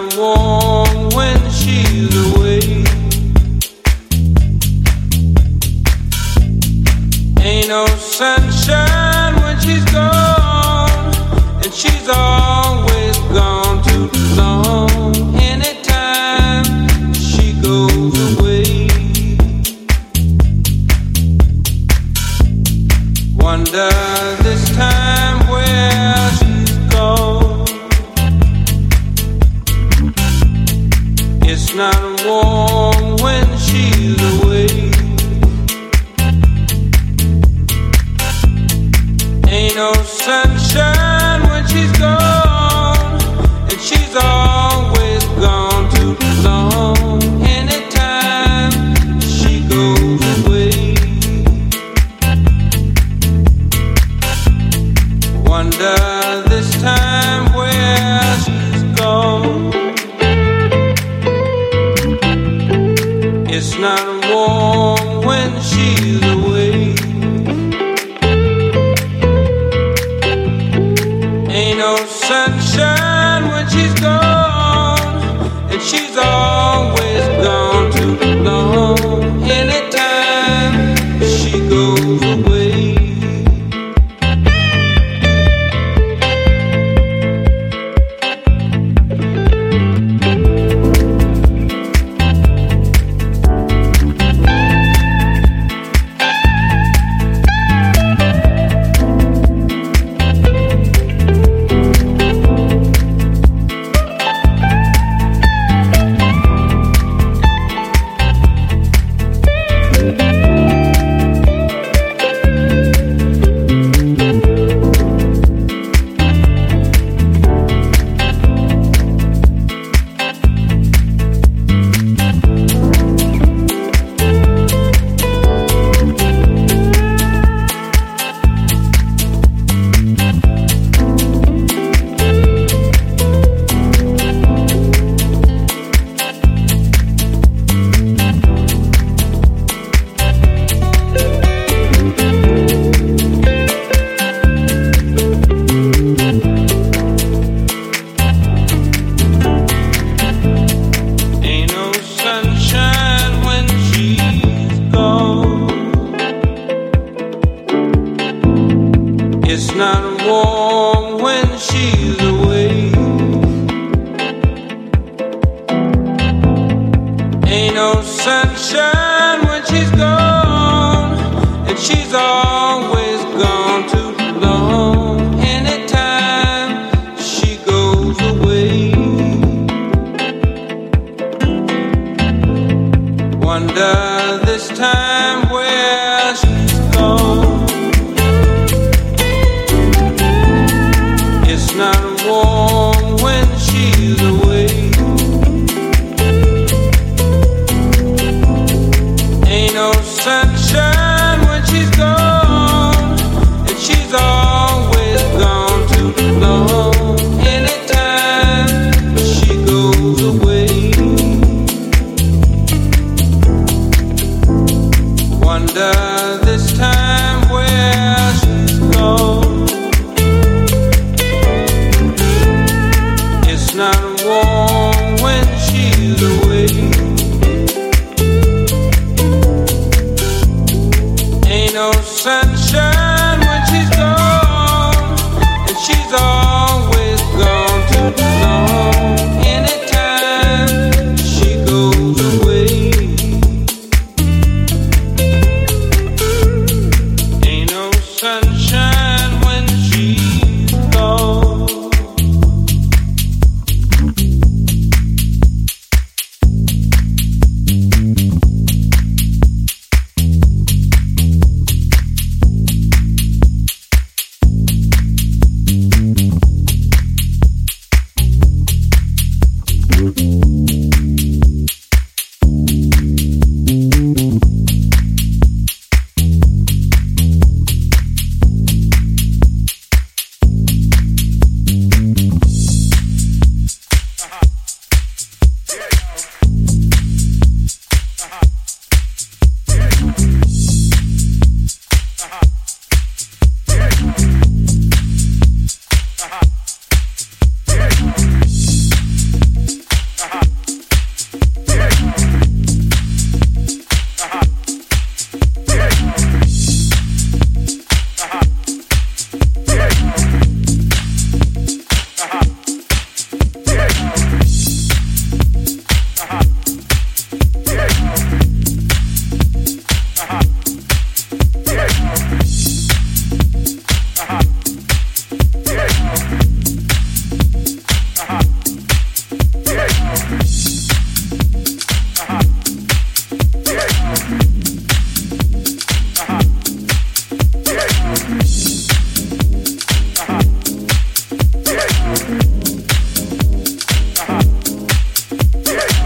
warm when she's away. Ain't no sunshine when she's gone, and she's always gone too long. Anytime she goes away, wonder this time where she's gone. It's not warm when she's away. Ain't no sunshine when she's gone, and she's always gone too long. Anytime she goes away, wonder this time where she's gone. It's not warm when she's away. Ain't no sunshine when she's gone, and she's always gone too long. Anytime she goes away,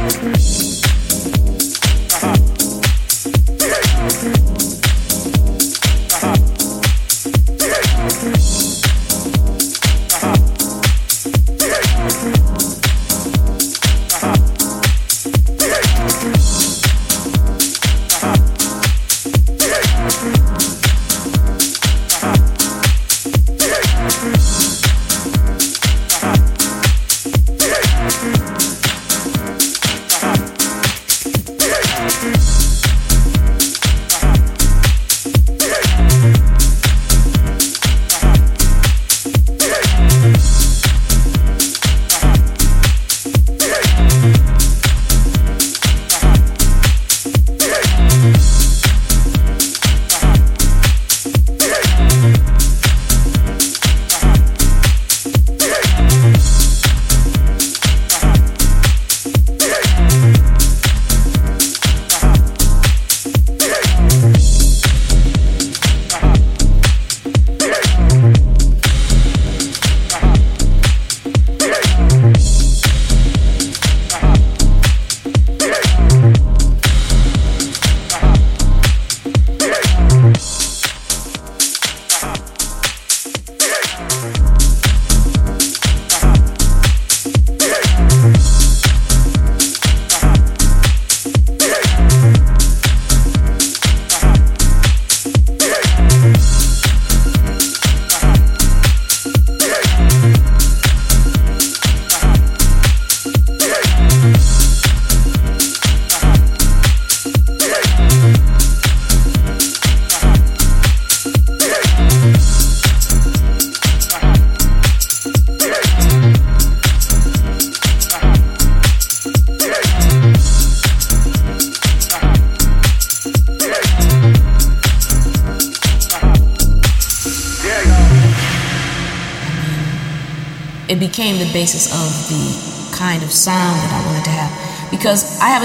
it became the basis of the kind of sound that I wanted to have. Because I have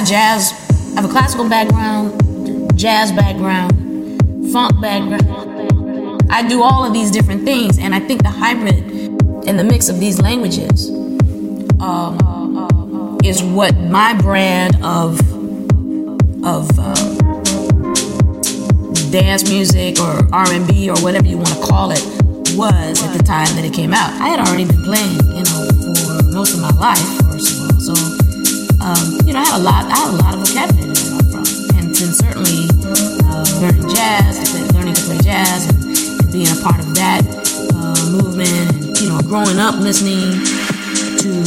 a classical background, jazz background, funk background. I do all of these different things, and I think the hybrid and the mix of these languages is what my brand of dance music or R&B or whatever you want to call it was at the time that it came out. I had already been playing, for most of my life, first of all. So, I had a lot of vocabulary to draw from, and then certainly learning jazz, learning to play jazz, and being a part of that movement, and growing up listening to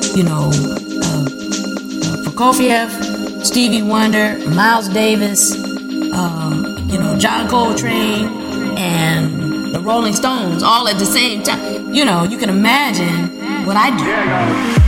Prokofiev, Stevie Wonder, Miles Davis, John Coltrane, and the Rolling Stones, all at the same time. You can imagine what I do.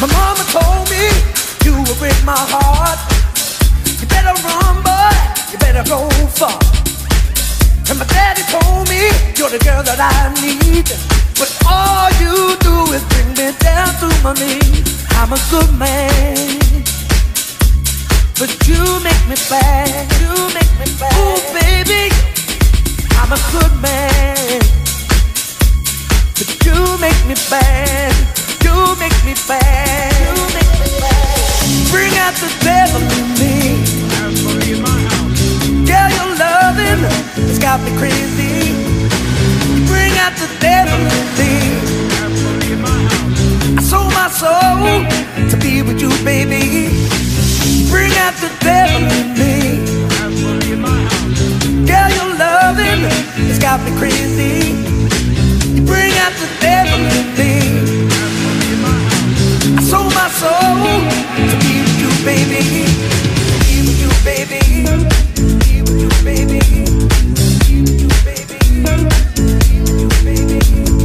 My mama told me you would break my heart. You better run, boy, you better go far. And my daddy told me you're the girl that I need, but all you do is bring me down to my knees. I'm a good man, but you make me bad. You make me bad. Ooh, baby, I'm a good man, but you make me bad. You make me bad. You make me bad. Bring out the devil in me. Girl, your loving has got me crazy. Bring out the devil in me. I sold my soul to be with you, baby. Bring out the devil in me. Girl, your loving has got me crazy. Bring out the devil in me. I sold my soul to be with you, baby. Be with you, baby. Be with you, baby. Be with you, baby. Be with you, baby.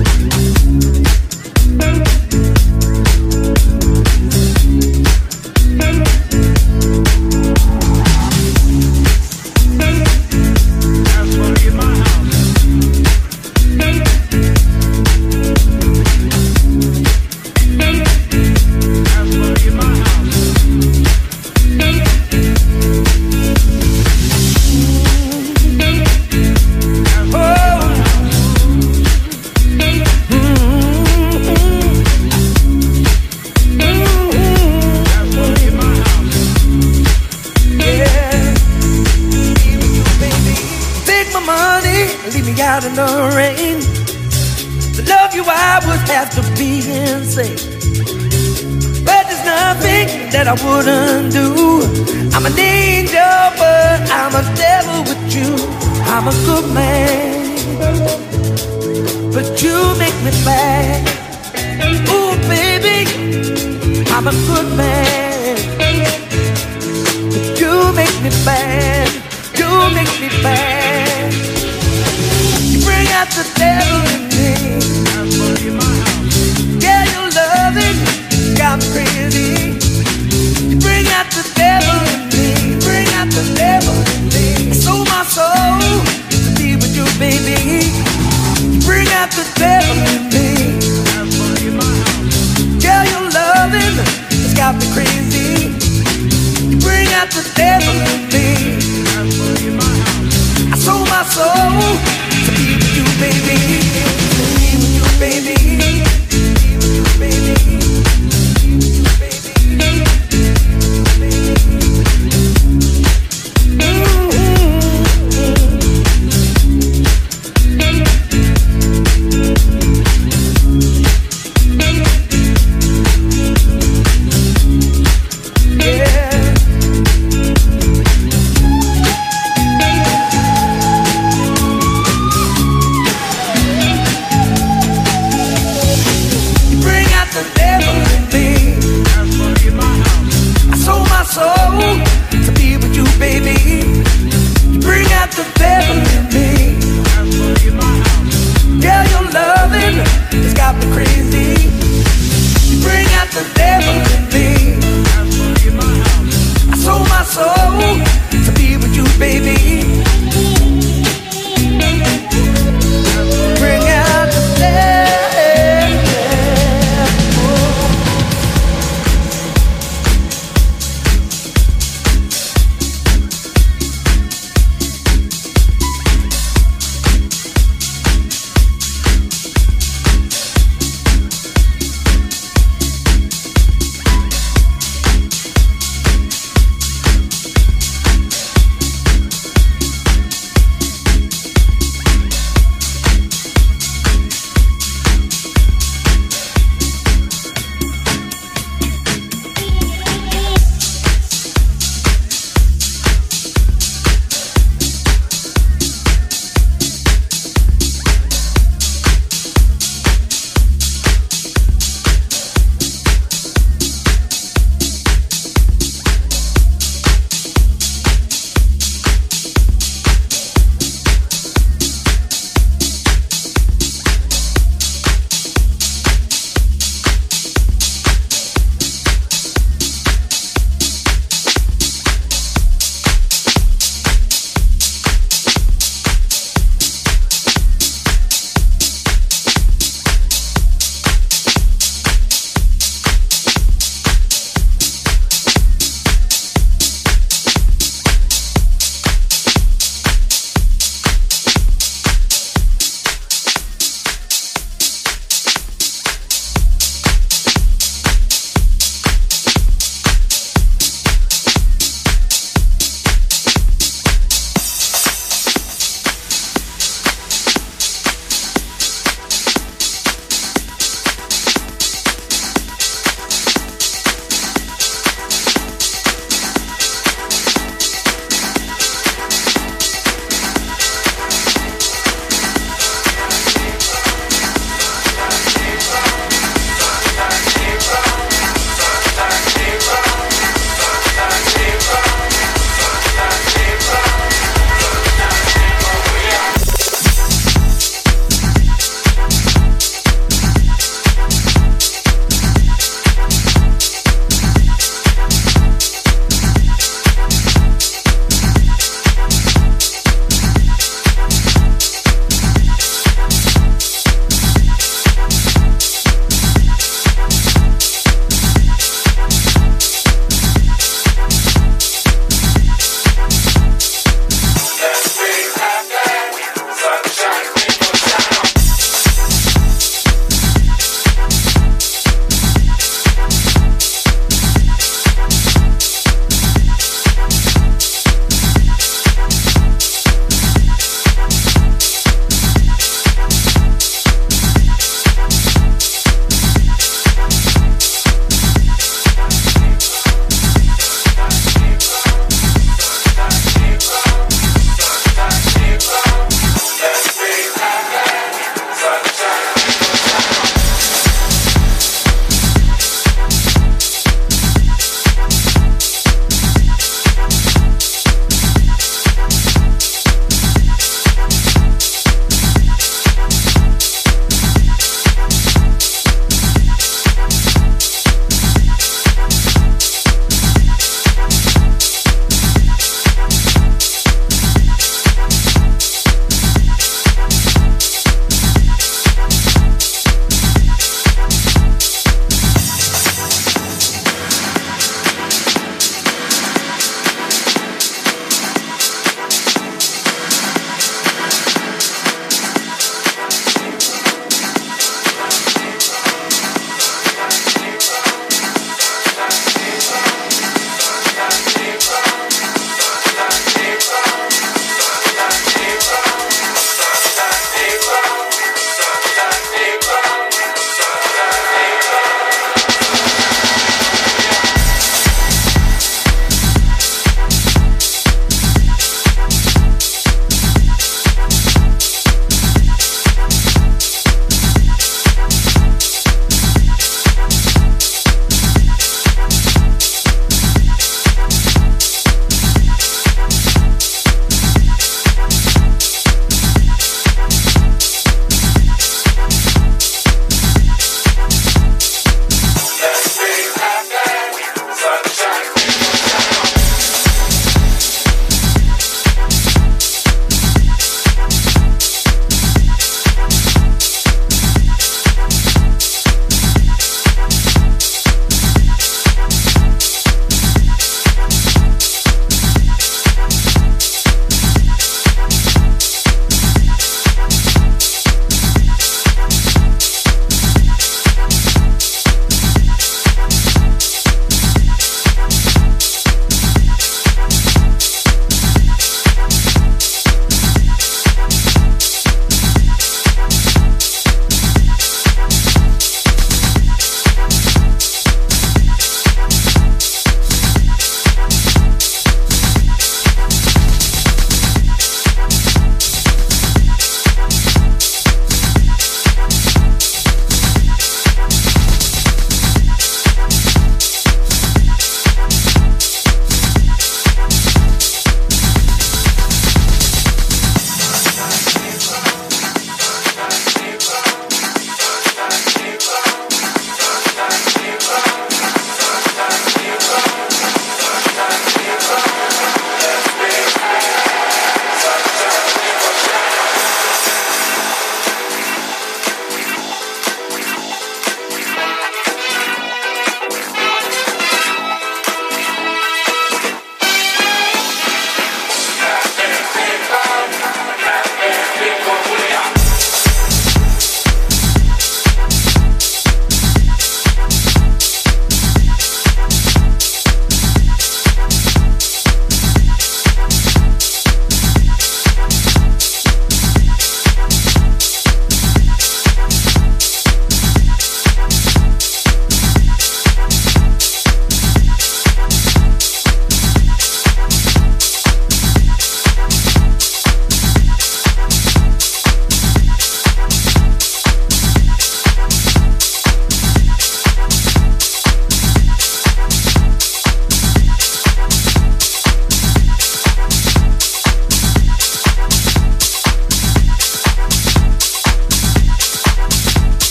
Out in the rain, to love you I would have to be insane. But there's nothing that I wouldn't do. I'm an angel, but I'm a devil with you. I'm a good man, but you make me bad. Ooh, baby, I'm a good man, but you make me bad. You make me bad. Bring out the devil in me. Yeah, your loving got me crazy. Bring out the devil in me. Bring out the devil in me. I sold my soul to be with you, baby. Bring out the devil in me. Yeah, your loving has got me crazy. Bring out the devil in me. I sold my soul to be with you, baby. Be with you, baby. Be with you, baby. Be with you, baby.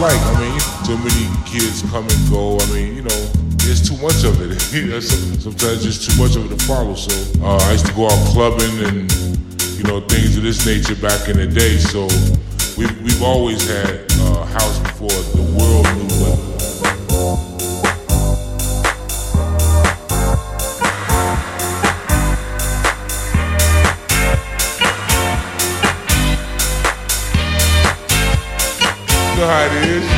like. I mean, too many kids come and go. I mean, there's too much of it. Sometimes just too much of it to follow. So I used to go out clubbing and things of this nature back in the day. So we've always had house before the world knew it. You know how it is.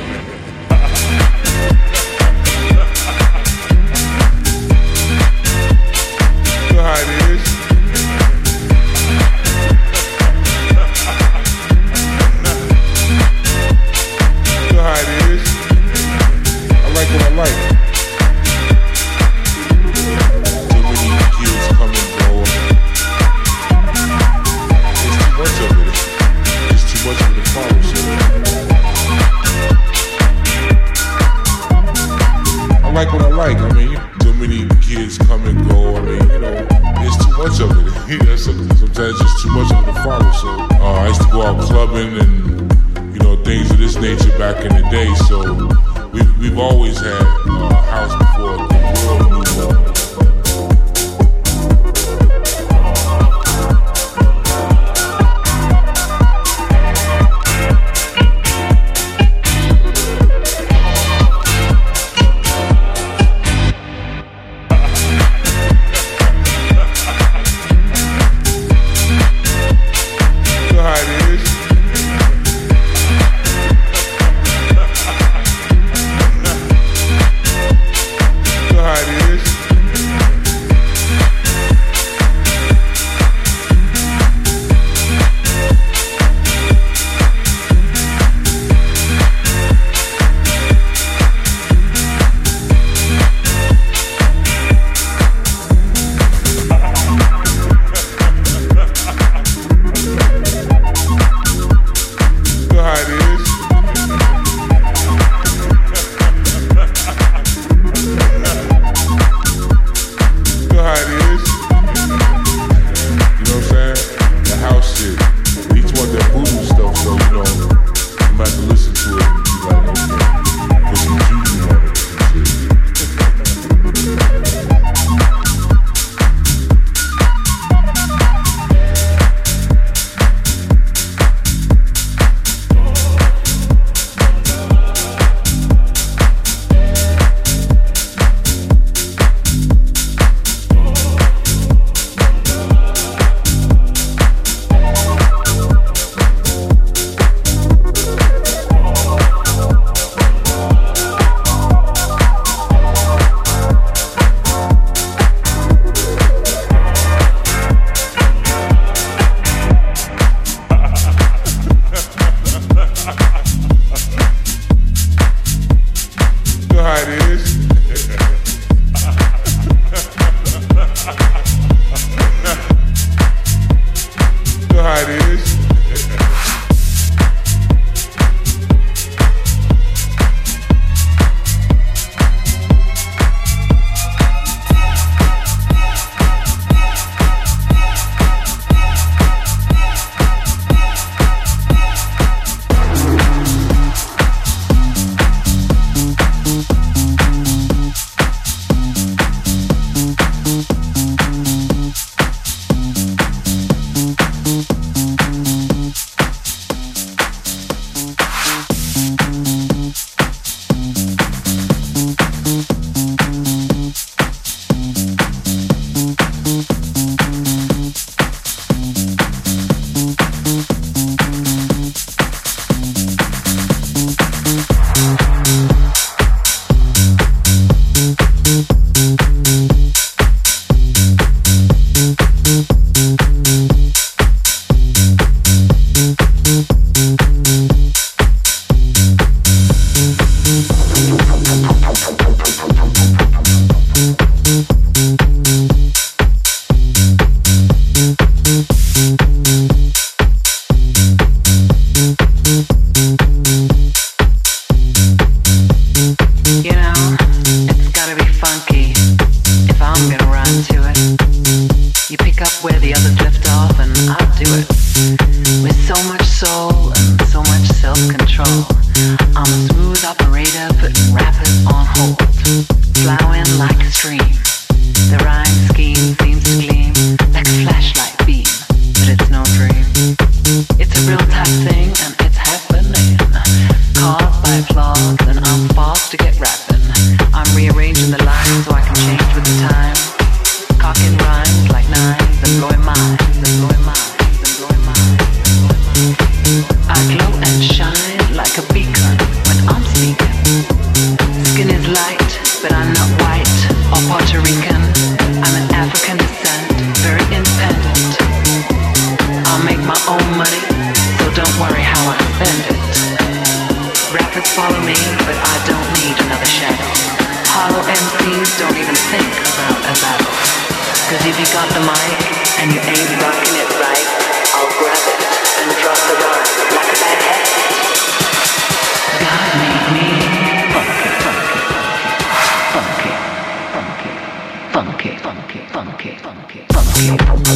You know how it is. You know how it is. I like what I like. Too many kids come and go. There's too much of it. There's too much of it to follow. I like what I like. I mean, too many kids come and go. I mean, there's too much of it. Sometimes just too much of it to follow. So I used to go out clubbing and things of this nature back in the day. So we've always had house before the world knew it. With so much soul and so much self-control. I'm a smooth operator, putting rappers on hold. Flowing like a stream. The rhyme scheme seems to gleam like a flashlight beam, but it's no dream. It's a real type thing and it's happening. Caught by flaws and I'm fast to get rapping. I'm rearranging the lines so I can change with the time. Cocking rhymes like nines and blowing minds and blowing minds and blowing minds. I glow and shine like a beacon when I'm speaking. Skin is light, but I'm not white or Puerto Rican. I'm an African descent, very independent. I'll make my own money, so don't worry how I spend it. Rappers follow me, but I don't need another shadow. Hollow MCs don't even think about a battle. Cause if you got the mic and you ain't rocking it right, I'll grab it and drop the rhyme like a bad habit. God made me funky, funky, funky, funky, funky, funky, funky, funky,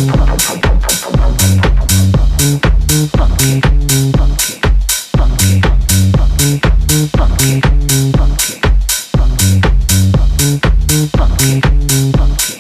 funky, funky, funky, funky, funky, funky, funky.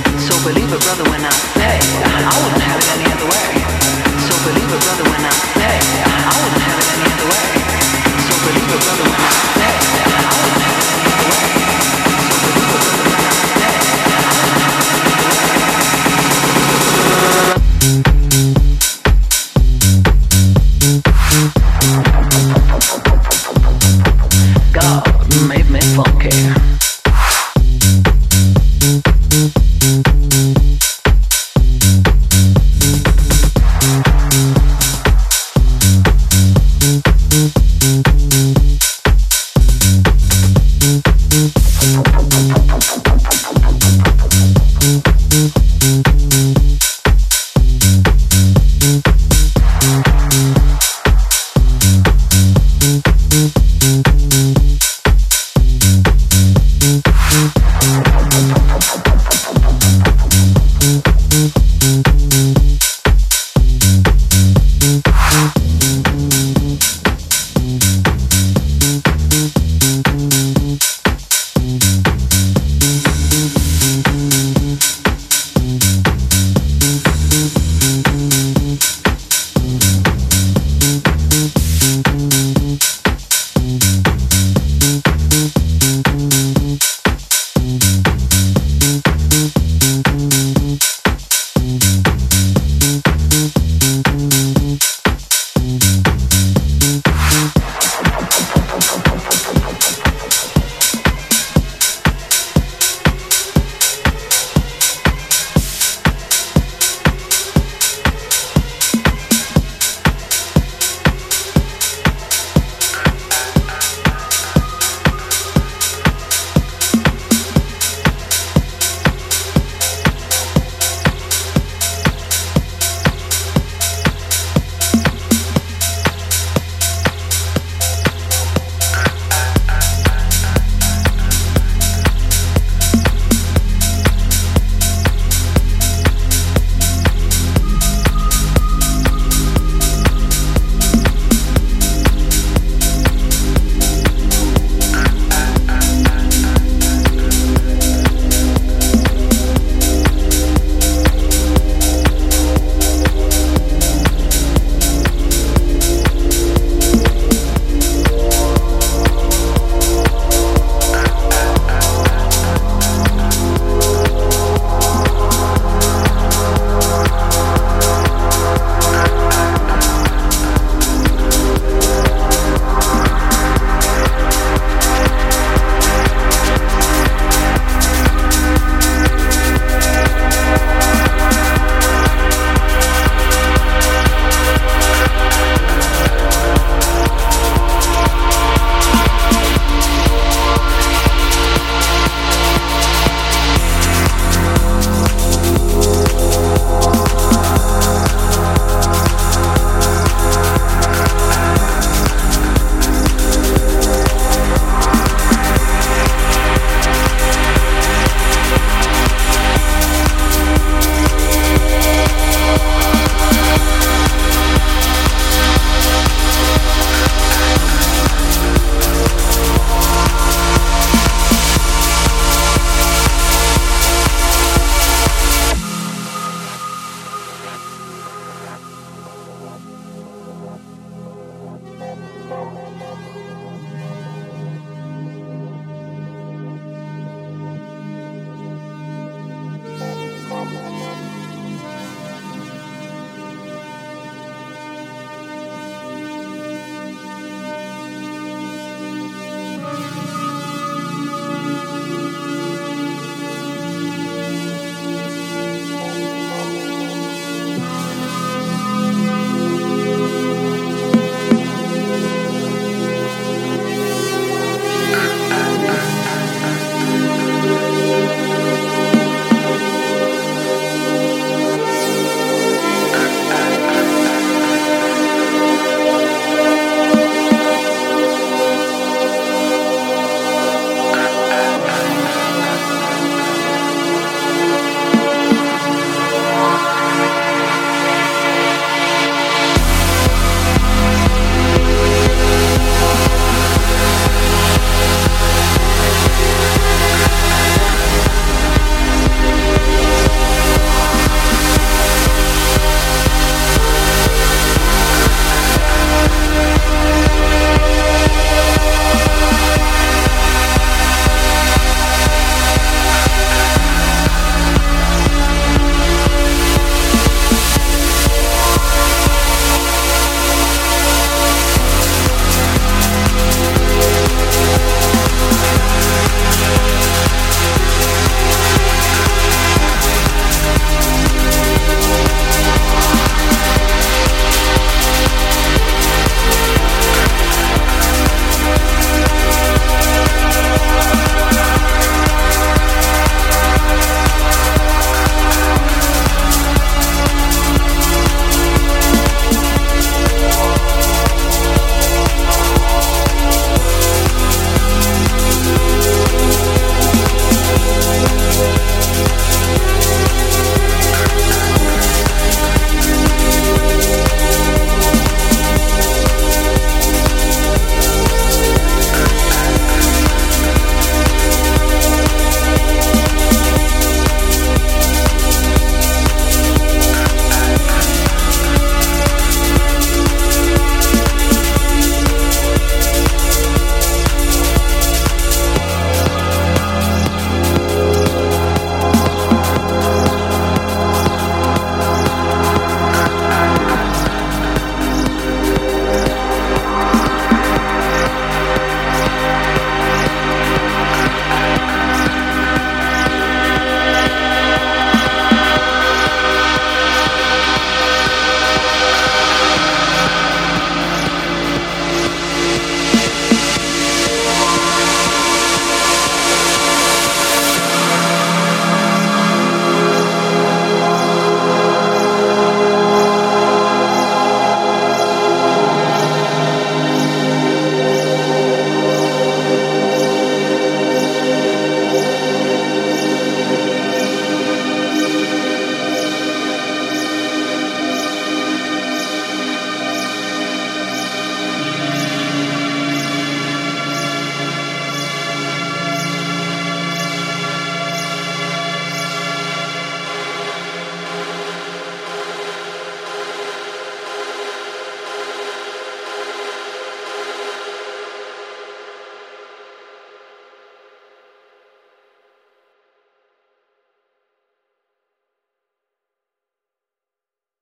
Believe it, brother, when I say